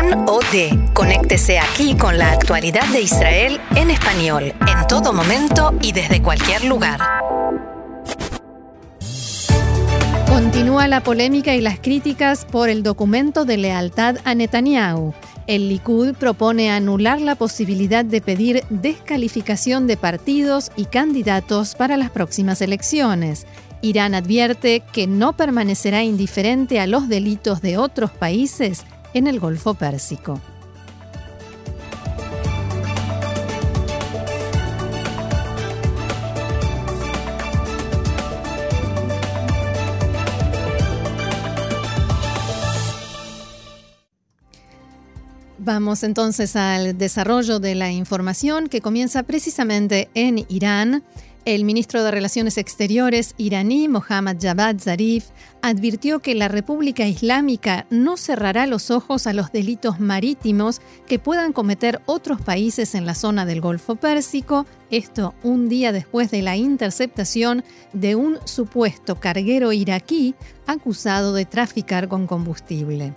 Con o de. Conéctese aquí con la actualidad de Israel en español, en todo momento y desde cualquier lugar. Continúa la polémica y las críticas por el documento de lealtad a Netanyahu. El Likud propone anular la posibilidad de pedir descalificación de partidos y candidatos para las próximas elecciones. Irán advierte que no permanecerá indiferente a los delitos de otros países en el Golfo Pérsico. Vamos entonces al desarrollo de la información que comienza precisamente en Irán. El ministro de Relaciones Exteriores iraní, Mohammad Javad Zarif, advirtió que la República Islámica no cerrará los ojos a los delitos marítimos que puedan cometer otros países en la zona del Golfo Pérsico, esto un día después de la interceptación de un supuesto carguero iraquí acusado de traficar con combustible.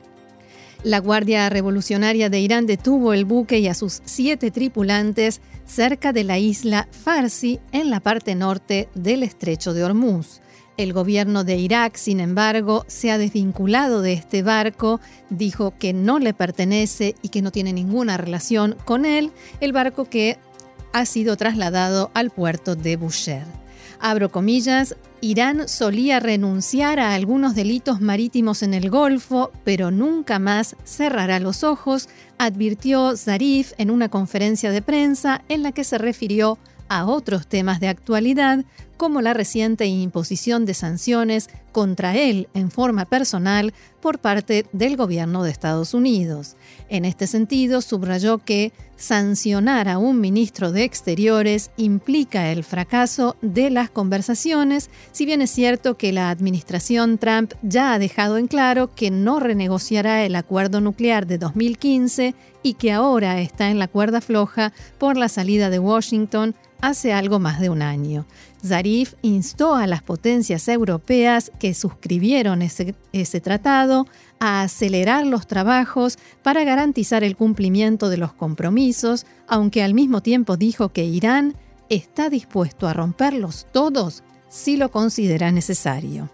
La Guardia Revolucionaria de Irán detuvo el buque y a sus 7 tripulantes cerca de la isla Farsi, en la parte norte del estrecho de Hormuz. El gobierno de Irak, sin embargo, se ha desvinculado de este barco, dijo que no le pertenece y que no tiene ninguna relación con él, el barco que ha sido trasladado al puerto de Bushehr. Abro comillas, Irán solía renunciar a algunos delitos marítimos en el Golfo, pero nunca más cerrará los ojos, advirtió Zarif en una conferencia de prensa en la que se refirió a otros temas de actualidad, como la reciente imposición de sanciones contra él en forma personal por parte del gobierno de Estados Unidos. En este sentido, subrayó que sancionar a un ministro de Exteriores implica el fracaso de las conversaciones, si bien es cierto que la administración Trump ya ha dejado en claro que no renegociará el acuerdo nuclear de 2015 y que ahora está en la cuerda floja por la salida de Washington hace algo más de un año. Zarif instó a las potencias europeas que suscribieron ese tratado a acelerar los trabajos para garantizar el cumplimiento de los compromisos, aunque al mismo tiempo dijo que Irán está dispuesto a romperlos todos si lo considera necesario.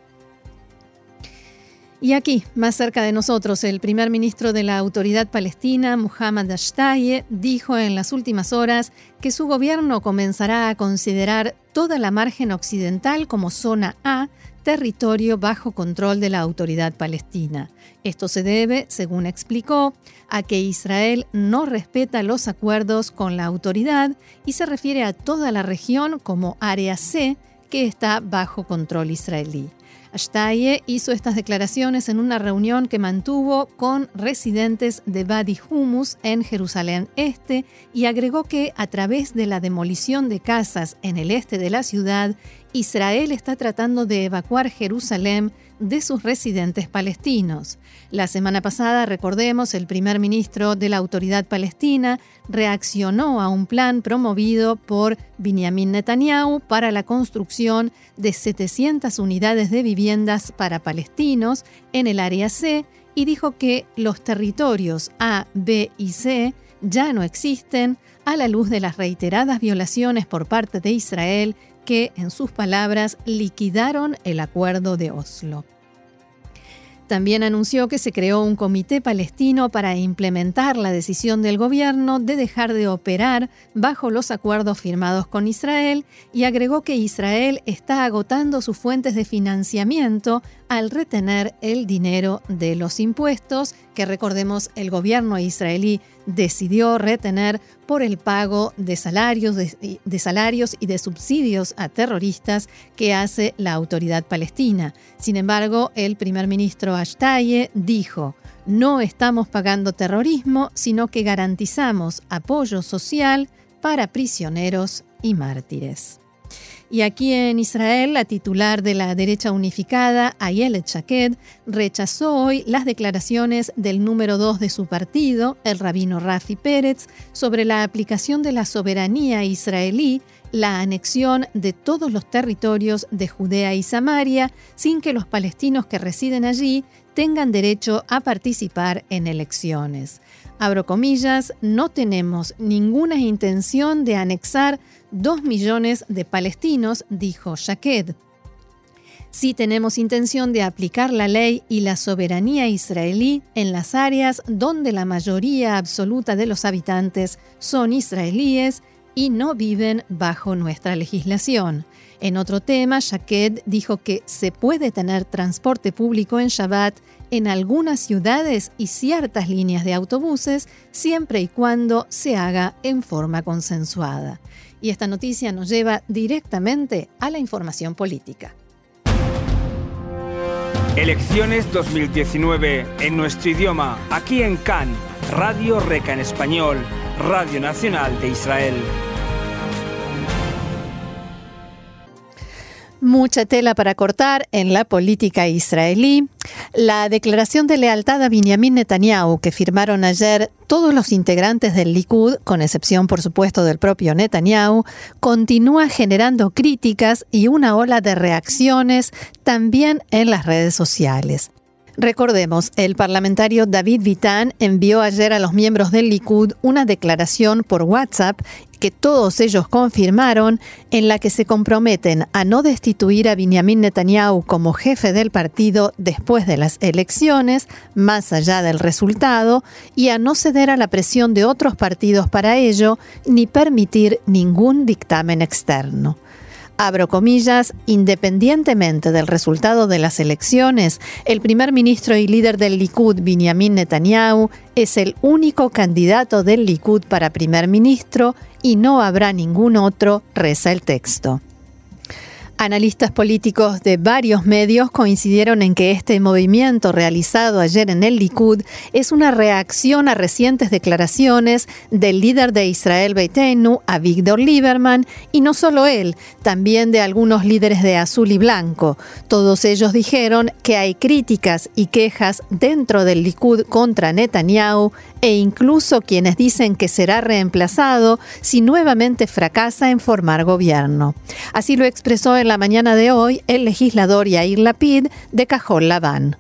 Y aquí, más cerca de nosotros, el primer ministro de la Autoridad Palestina, Mohammad Shtayyeh, dijo en las últimas horas que su gobierno comenzará a considerar toda la margen occidental como zona A, territorio bajo control de la Autoridad Palestina. Esto se debe, según explicó, a que Israel no respeta los acuerdos con la autoridad y se refiere a toda la región como Área C, que está bajo control israelí. Shtayyeh hizo estas declaraciones en una reunión que mantuvo con residentes de Wadi Hummus en Jerusalén Este y agregó que a través de la demolición de casas en el este de la ciudad, Israel está tratando de evacuar Jerusalén de sus residentes palestinos. La semana pasada, recordemos, el primer ministro de la Autoridad Palestina reaccionó a un plan promovido por Benjamin Netanyahu para la construcción de 700 unidades de viviendas para palestinos en el área C y dijo que los territorios A, B y C ya no existen a la luz de las reiteradas violaciones por parte de Israel que, en sus palabras, liquidaron el acuerdo de Oslo. También anunció que se creó un comité palestino para implementar la decisión del gobierno de dejar de operar bajo los acuerdos firmados con Israel y agregó que Israel está agotando sus fuentes de financiamiento al retener el dinero de los impuestos que, recordemos, el gobierno israelí decidió retener por el pago de salarios y de subsidios a terroristas que hace la autoridad palestina. Sin embargo, el primer ministro Shtayyeh dijo: no estamos pagando terrorismo, sino que garantizamos apoyo social para prisioneros y mártires. Y aquí en Israel, la titular de la derecha unificada, Ayelet Shaked, rechazó hoy las declaraciones del número 2 de su partido, el rabino Rafi Peretz, sobre la aplicación de la soberanía israelí, la anexión de todos los territorios de Judea y Samaria, sin que los palestinos que residen allí tengan derecho a participar en elecciones. Abro comillas, no tenemos ninguna intención de anexar 2 millones de palestinos, dijo Shaked. Sí tenemos intención de aplicar la ley y la soberanía israelí en las áreas donde la mayoría absoluta de los habitantes son israelíes y no viven bajo nuestra legislación. En otro tema, Shaked dijo que se puede tener transporte público en Shabbat en algunas ciudades y ciertas líneas de autobuses, siempre y cuando se haga en forma consensuada. Y esta noticia nos lleva directamente a la información política. Elecciones 2019 en nuestro idioma, aquí en CAN, Radio Reca en español, Radio Nacional de Israel. Mucha tela para cortar en la política israelí. La declaración de lealtad a Benjamin Netanyahu que firmaron ayer todos los integrantes del Likud, con excepción por supuesto del propio Netanyahu, continúa generando críticas y una ola de reacciones también en las redes sociales. Recordemos, el parlamentario David Bitan envió ayer a los miembros del Likud una declaración por WhatsApp que todos ellos confirmaron, en la que se comprometen a no destituir a Benjamin Netanyahu como jefe del partido después de las elecciones, más allá del resultado, y a no ceder a la presión de otros partidos para ello, ni permitir ningún dictamen externo. Abro comillas, independientemente del resultado de las elecciones, el primer ministro y líder del Likud, Benjamin Netanyahu, es el único candidato del Likud para primer ministro y no habrá ningún otro, reza el texto. Analistas políticos de varios medios coincidieron en que este movimiento realizado ayer en el Likud es una reacción a recientes declaraciones del líder de Israel Beiteinu, Avigdor Lieberman, y no solo él, también de algunos líderes de azul y blanco. Todos ellos dijeron que hay críticas y quejas dentro del Likud contra Netanyahu e incluso quienes dicen que será reemplazado si nuevamente fracasa en formar gobierno. Así lo expresó en la mañana de hoy el legislador Yair Lapid de Cajol Labán.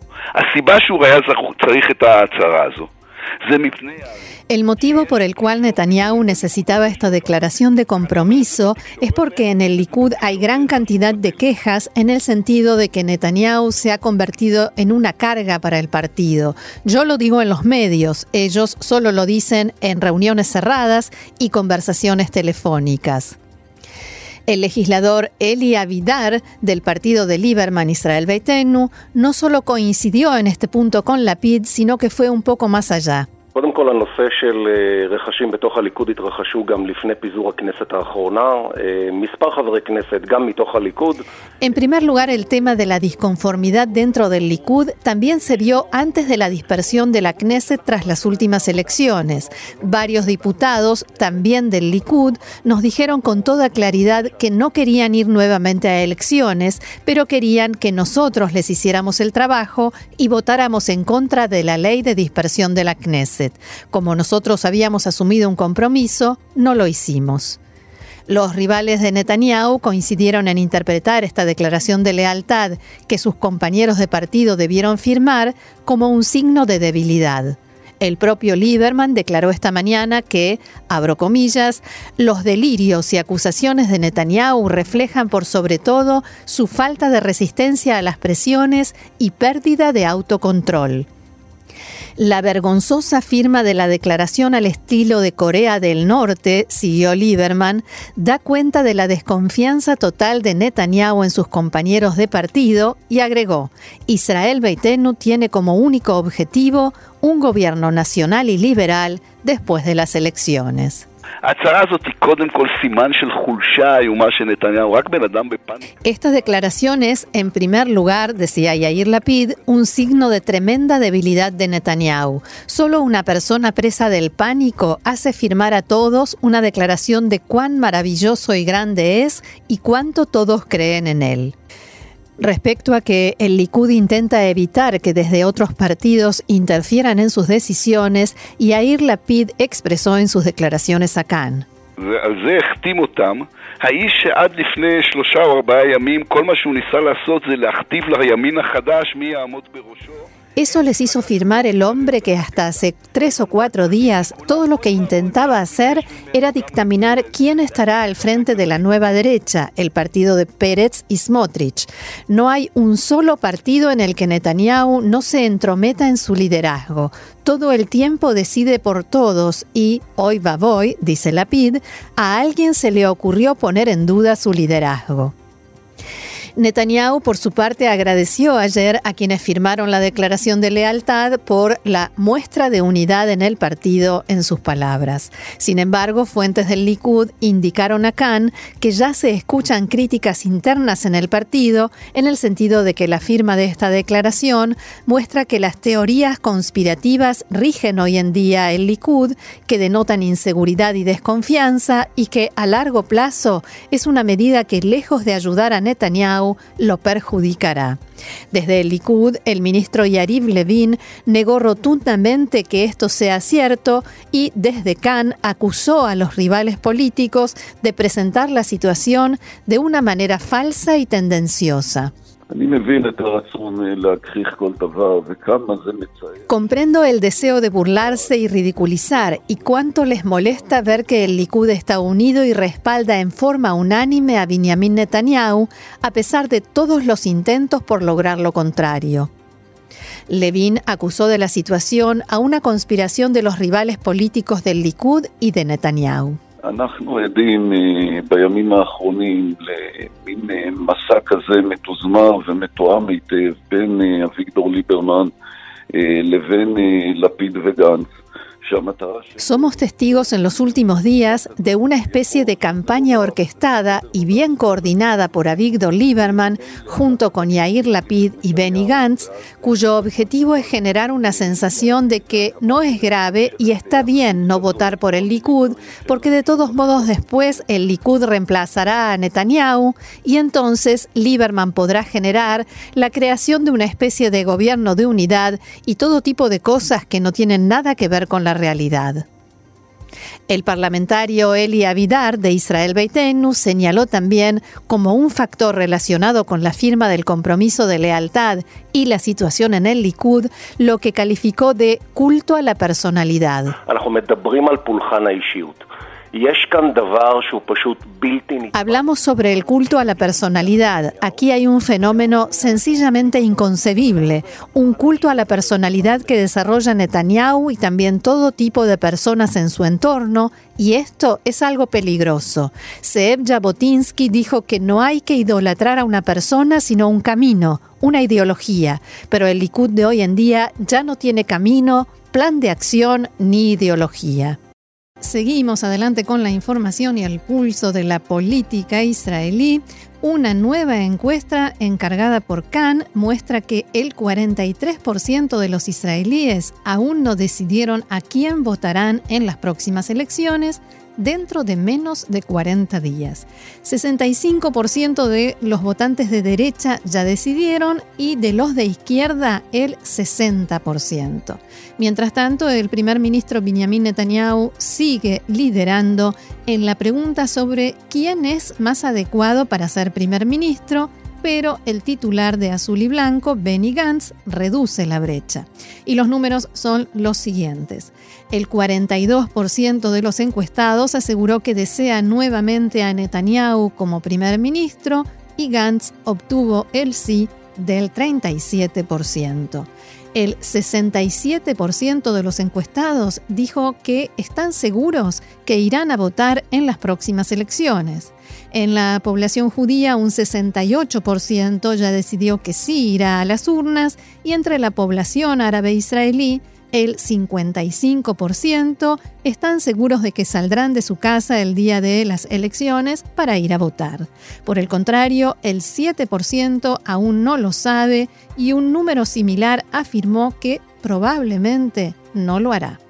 El motivo por el cual Netanyahu necesitaba esta declaración de compromiso es porque en el Likud hay gran cantidad de quejas en el sentido de que Netanyahu se ha convertido en una carga para el partido. Yo lo digo en los medios, ellos solo lo dicen en reuniones cerradas y conversaciones telefónicas. El legislador Eli Avidar, del partido de Lieberman Israel Beiteinu, no solo coincidió en este punto con Lapid, sino que fue un poco más allá. קודם כל הנושא של רכשים בתוך הליכוד התרחשו גם לפני פיזור הכנסת האחרונה, מספר חברי כנסת גם מתוך הליכוד. En primer lugar, el tema de la disconformidad dentro del Likud también se vio antes de la dispersión de la Knesset tras las últimas elecciones. Varios diputados, también del Likud, nos dijeron con toda claridad que no querían ir nuevamente a elecciones, pero querían que nosotros les hiciéramos el trabajo y votáramos en contra de la ley de dispersión de la Knesset. Como nosotros habíamos asumido un compromiso, no lo hicimos. Los rivales de Netanyahu coincidieron en interpretar esta declaración de lealtad que sus compañeros de partido debieron firmar como un signo de debilidad. El propio Lieberman declaró esta mañana que, abro comillas, los delirios y acusaciones de Netanyahu reflejan por sobre todo su falta de resistencia a las presiones y pérdida de autocontrol. La vergonzosa firma de la declaración al estilo de Corea del Norte, siguió Lieberman, da cuenta de la desconfianza total de Netanyahu en sus compañeros de partido y agregó, Israel Beiteinu tiene como único objetivo un gobierno nacional y liberal después de las elecciones. Estas declaraciones, en primer lugar, decía Yair Lapid, un signo de tremenda debilidad de Netanyahu. Solo una persona presa del pánico hace firmar a todos una declaración de cuán maravilloso y grande es y cuánto todos creen en él. Respecto a que el Likud intenta evitar que desde otros partidos interfieran en sus decisiones, Yair Lapid expresó en sus declaraciones a Kan. האיש שעד לפני 3 או 4 ימים, כל מה שהוא ניסה לעשות זה להכתיב לימין החדש מי יעמוד בראשו. Eso les hizo firmar el hombre que hasta hace 3 o 4 días todo lo que intentaba hacer era dictaminar quién estará al frente de la nueva derecha, el partido de Peretz y Smotrich. No hay un solo partido en el que Netanyahu no se entrometa en su liderazgo. Todo el tiempo decide por todos y, hoy va voy, dice Lapid, a alguien se le ocurrió poner en duda su liderazgo. Netanyahu, por su parte, agradeció ayer a quienes firmaron la declaración de lealtad por la muestra de unidad en el partido, en sus palabras. Sin embargo, fuentes del Likud indicaron a Kan que ya se escuchan críticas internas en el partido en el sentido de que la firma de esta declaración muestra que las teorías conspirativas rigen hoy en día el Likud, que denotan inseguridad y desconfianza y que a largo plazo es una medida que, lejos de ayudar a Netanyahu, lo perjudicará. Desde el Likud, el ministro Yariv Levin negó rotundamente que esto sea cierto y desde Kan acusó a los rivales políticos de presentar la situación de una manera falsa y tendenciosa. Comprendo el deseo de burlarse y ridiculizar y cuánto les molesta ver que el Likud está unido y respalda en forma unánime a Binyamin Netanyahu a pesar de todos los intentos por lograr lo contrario. Levin acusó de la situación a una conspiración de los rivales políticos del Likud y de Netanyahu. אנחנו עדים בימים האחרונים למין מסע כזה מתוזמר ומתואם היטב בין אביגדור ליברמן לבין לפיד וגנץ. Somos testigos en los últimos días de una especie de campaña orquestada y bien coordinada por Avigdor Lieberman junto con Yair Lapid y Benny Gantz, cuyo objetivo es generar una sensación de que no es grave y está bien no votar por el Likud, porque de todos modos después el Likud reemplazará a Netanyahu y entonces Lieberman podrá generar la creación de una especie de gobierno de unidad y todo tipo de cosas que no tienen nada que ver con la realidad. El parlamentario Eli Avidar de Israel Beitenu señaló también como un factor relacionado con la firma del compromiso de lealtad y la situación en el Likud lo que calificó de culto a la personalidad. Hablamos sobre el culto a la personalidad. Aquí hay un fenómeno sencillamente inconcebible, un culto a la personalidad que desarrolla Netanyahu y también todo tipo de personas en su entorno, y esto es algo peligroso. Zeev Jabotinsky dijo que no hay que idolatrar a una persona, sino un camino, una ideología, pero el Likud de hoy en día ya no tiene camino, plan de acción ni ideología. Seguimos adelante con la información y el pulso de la política israelí. Una nueva encuesta encargada por Kan muestra que el 43% de los israelíes aún no decidieron a quién votarán en las próximas elecciones dentro de menos de 40 días. 65% de los votantes de derecha ya decidieron y de los de izquierda el 60%. Mientras tanto, el primer ministro Binyamin Netanyahu sigue liderando en la pregunta sobre quién es más adecuado para ser primer ministro, pero el titular de Azul y Blanco, Benny Gantz, reduce la brecha. Y los números son los siguientes. El 42% de los encuestados aseguró que desea nuevamente a Netanyahu como primer ministro y Gantz obtuvo el sí del 37%. El 67% de los encuestados dijo que están seguros que irán a votar en las próximas elecciones. En la población judía, un 68% ya decidió que sí irá a las urnas y entre la población árabe israelí, el 55% están seguros de que saldrán de su casa el día de las elecciones para ir a votar. Por el contrario, el 7% aún no lo sabe y un número similar afirmó que probablemente no lo hará.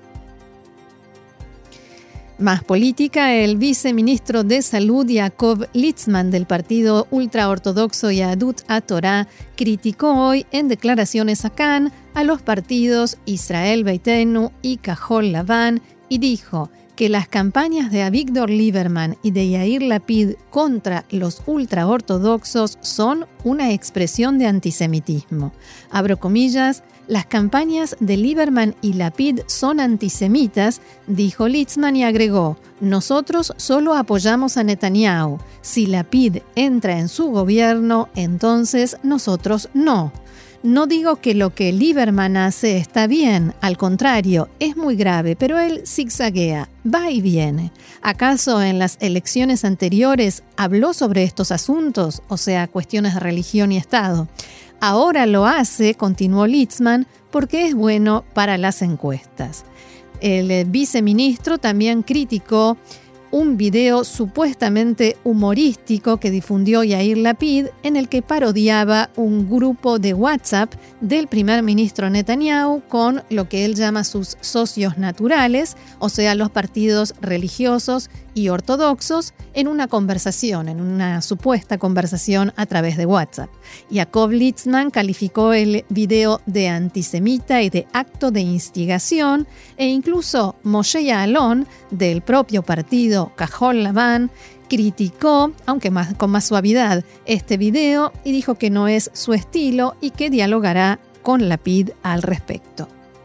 Más política, el viceministro de Salud, Yaakov Litzman, del partido ultraortodoxo Yahadut HaTorah, criticó hoy en declaraciones a Kan a los partidos Israel Beiteinu y Kahol Lavan y dijo que las campañas de Avigdor Lieberman y de Yair Lapid contra los ultraortodoxos son una expresión de antisemitismo. Abro comillas, las campañas de Lieberman y Lapid son antisemitas, dijo Litzman y agregó, nosotros solo apoyamos a Netanyahu. Si Lapid entra en su gobierno, entonces nosotros no. No digo que lo que Lieberman hace está bien, al contrario, es muy grave, pero él zigzaguea, va y viene. ¿Acaso en las elecciones anteriores habló sobre estos asuntos, o sea, cuestiones de religión y Estado? Ahora lo hace, continuó Litzman, porque es bueno para las encuestas. El viceministro también criticó un video supuestamente humorístico que difundió Yair Lapid en el que parodiaba un grupo de WhatsApp del primer ministro Netanyahu con lo que él llama sus socios naturales, o sea, los partidos religiosos y ortodoxos, en una conversación, en una supuesta conversación a través de WhatsApp. Yaakov Litzman calificó el video de antisemita y de acto de instigación e incluso Moshe Ya'alon, del propio partido Kahol Lavan, criticó, aunque con más suavidad, este video y dijo que no es su estilo y que dialogará con Lapid al respecto.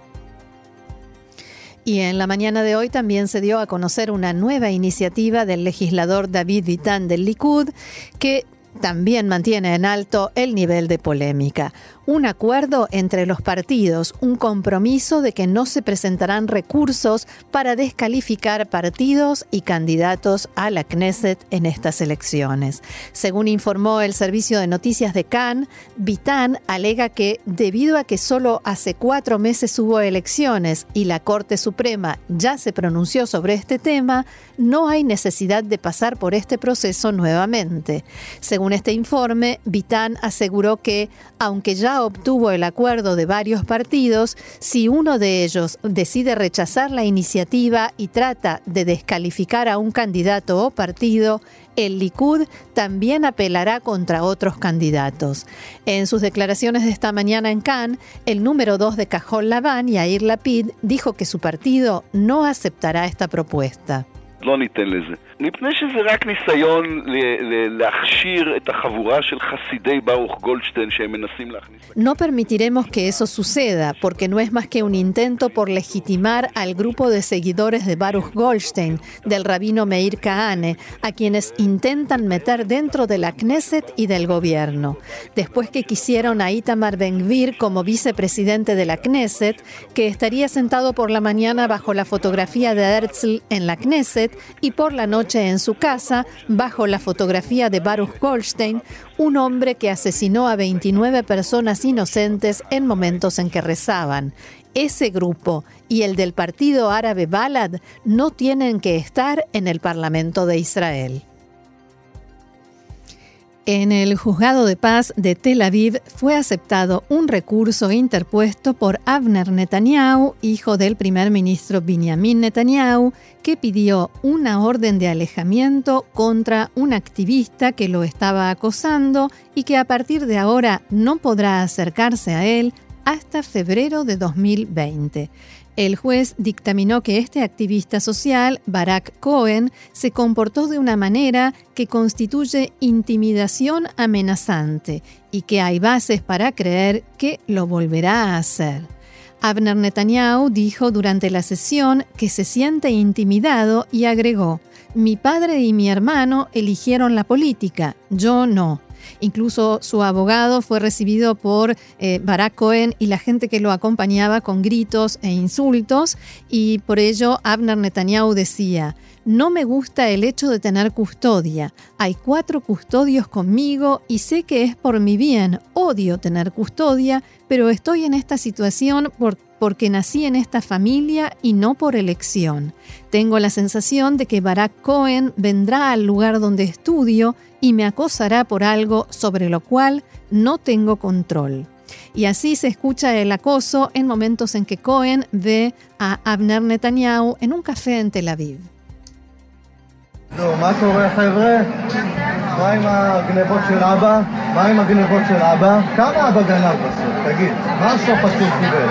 Y en la mañana de hoy también se dio a conocer una nueva iniciativa del legislador David Bitan del Likud que también mantiene en alto el nivel de polémica. Un acuerdo entre los partidos, un compromiso de que no se presentarán recursos para descalificar partidos y candidatos a la Knesset en estas elecciones. Según informó el servicio de noticias de Kan, Bitan alega que debido a que solo hace 4 meses hubo elecciones y la Corte Suprema ya se pronunció sobre este tema, no hay necesidad de pasar por este proceso nuevamente. Según este informe, Bitan aseguró que, aunque ya obtuvo el acuerdo de varios partidos, si uno de ellos decide rechazar la iniciativa y trata de descalificar a un candidato o partido, el Likud también apelará contra otros candidatos. En sus declaraciones de esta mañana en Kan, el número 2 de Kahol Lavan, Yair Lapid, dijo que su partido no aceptará esta propuesta. לא ניתן לזה. מפני שזה רק ניסיון להכשיר את החבורה של חסידי ברוך גולדשטיין שהם מנסים להכניס. No permitiremos que eso suceda, porque no es más que un intento por legitimar al grupo de seguidores de Baruch Goldstein, del rabino Meir Kahane, a quienes intentan meter dentro de la Knesset y del gobierno. Después que quisieron a Itamar Ben-Gvir como vicepresidente de la Knesset, que estaría sentado por la mañana bajo la fotografía de Herzl en la Knesset y por la noche en su casa, bajo la fotografía de Baruch Goldstein, un hombre que asesinó a 29 personas inocentes en momentos en que rezaban. Ese grupo y el del partido árabe Balad no tienen que estar en el Parlamento de Israel. En el Juzgado de Paz de Tel Aviv fue aceptado un recurso interpuesto por Avner Netanyahu, hijo del primer ministro Binyamin Netanyahu, que pidió una orden de alejamiento contra un activista que lo estaba acosando y que a partir de ahora no podrá acercarse a él hasta febrero de 2020. El juez dictaminó que este activista social, Barak Cohen, se comportó de una manera que constituye intimidación amenazante y que hay bases para creer que lo volverá a hacer. Avner Netanyahu dijo durante la sesión que se siente intimidado y agregó: «Mi padre y mi hermano eligieron la política, yo no». Incluso su abogado fue recibido por Barak Cohen y la gente que lo acompañaba con gritos e insultos, y por ello Avner Netanyahu decía: No me gusta el hecho de tener custodia. Hay 4 custodios conmigo y sé que es por mi bien. Odio tener custodia, pero estoy en esta situación porque nací en esta familia y no por elección. Tengo la sensación de que Barak Cohen vendrá al lugar donde estudio y me acosará por algo sobre lo cual no tengo control. Y así se escucha el acoso en momentos en que Cohen ve a Avner Netanyahu en un café en Tel Aviv. מה קורה חבר'ה? מה עם הגנבות של אבא? מה עם הגנבות של אבא? כמה אבא גנב בסוף? תגיד, מה השוחד שהוא קיבל?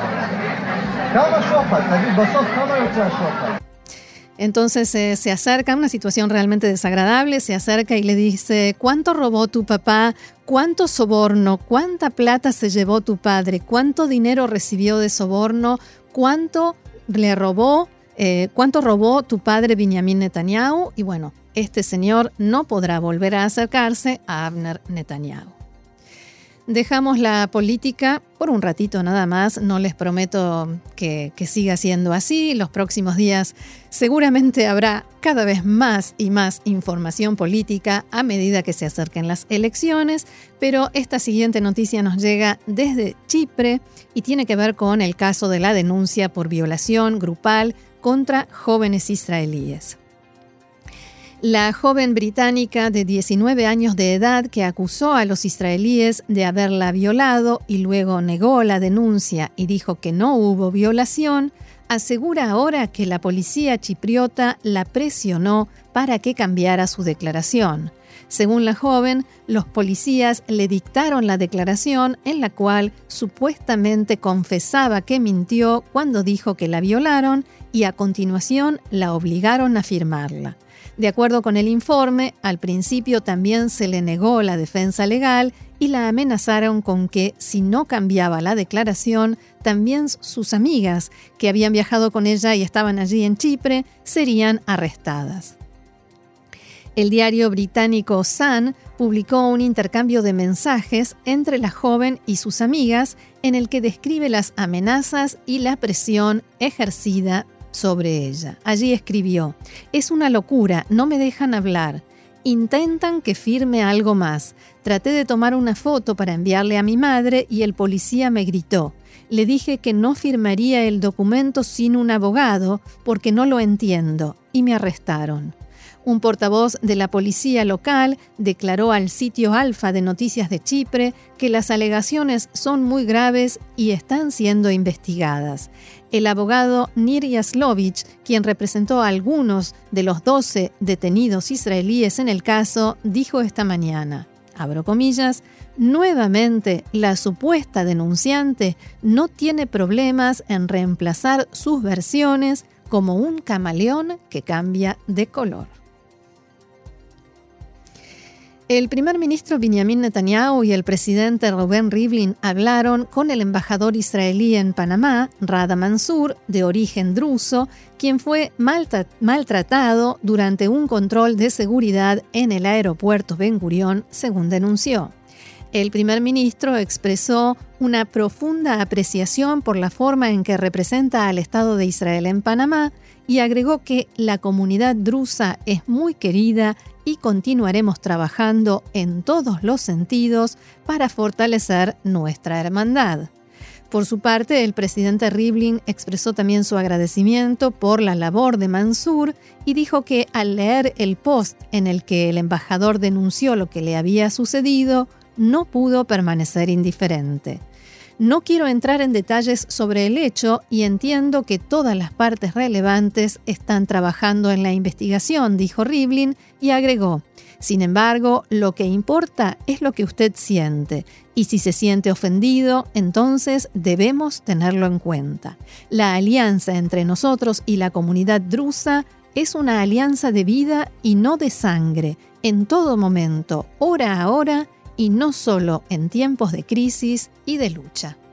כמה שוחד? תגיד, בסוף כמה יוצא השוחד? Entonces se acerca, una situación realmente desagradable, se acerca y le dice: ¿cuánto robó tu papá? ¿Cuánto soborno? ¿Cuánta plata se llevó tu padre? ¿Cuánto dinero recibió de soborno? ¿Cuánto le robó? ¿Cuánto robó tu padre Benjamin Netanyahu? Y bueno, este señor no podrá volver a acercarse a Avner Netanyahu. Dejamos la política por un ratito nada más, no les prometo que siga siendo así. Los próximos días seguramente habrá cada vez más y más información política a medida que se acerquen las elecciones, pero esta siguiente noticia nos llega desde Chipre y tiene que ver con el caso de la denuncia por violación grupal contra jóvenes israelíes. La joven británica de 19 años de edad que acusó a los israelíes de haberla violado y luego negó la denuncia y dijo que no hubo violación, asegura ahora que la policía chipriota la presionó para que cambiara su declaración. Según la joven, los policías le dictaron la declaración en la cual supuestamente confesaba que mintió cuando dijo que la violaron y a continuación la obligaron a firmarla. De acuerdo con el informe, al principio también se le negó la defensa legal y la amenazaron con que, si no cambiaba la declaración, también sus amigas, que habían viajado con ella y estaban allí en Chipre, serían arrestadas. El diario británico Sun publicó un intercambio de mensajes entre la joven y sus amigas en el que describe las amenazas y la presión ejercida sobre ella. Allí escribió: «Es una locura, no me dejan hablar. Intentan que firme algo más. Traté de tomar una foto para enviarle a mi madre y el policía me gritó. Le dije que no firmaría el documento sin un abogado porque no lo entiendo y me arrestaron». Un portavoz de la policía local declaró al sitio Alfa de Noticias de Chipre que las alegaciones son muy graves y están siendo investigadas. El abogado Nir Yaslovich, quien representó a algunos de los 12 detenidos israelíes en el caso, dijo esta mañana, abro comillas, «nuevamente la supuesta denunciante no tiene problemas en reemplazar sus versiones como un camaleón que cambia de color». El primer ministro Benjamin Netanyahu y el presidente Reuven Rivlin hablaron con el embajador israelí en Panamá, Rada Mansour, de origen druso, quien fue maltratado durante un control de seguridad en el aeropuerto Ben Gurión, según denunció. El primer ministro expresó una profunda apreciación por la forma en que representa al Estado de Israel en Panamá y agregó que la comunidad drusa es muy querida y continuaremos trabajando en todos los sentidos para fortalecer nuestra hermandad. Por su parte, el presidente Rivlin expresó también su agradecimiento por la labor de Mansour y dijo que al leer el post en el que el embajador denunció lo que le había sucedido, no pudo permanecer indiferente. No quiero entrar en detalles sobre el hecho y entiendo que todas las partes relevantes están trabajando en la investigación, dijo Rivlin, y agregó, sin embargo, lo que importa es lo que usted siente, y si se siente ofendido, entonces debemos tenerlo en cuenta. La alianza entre nosotros y la comunidad drusa es una alianza de vida y no de sangre, en todo momento, hora a hora, y no solo en tiempos de crisis y de lucha.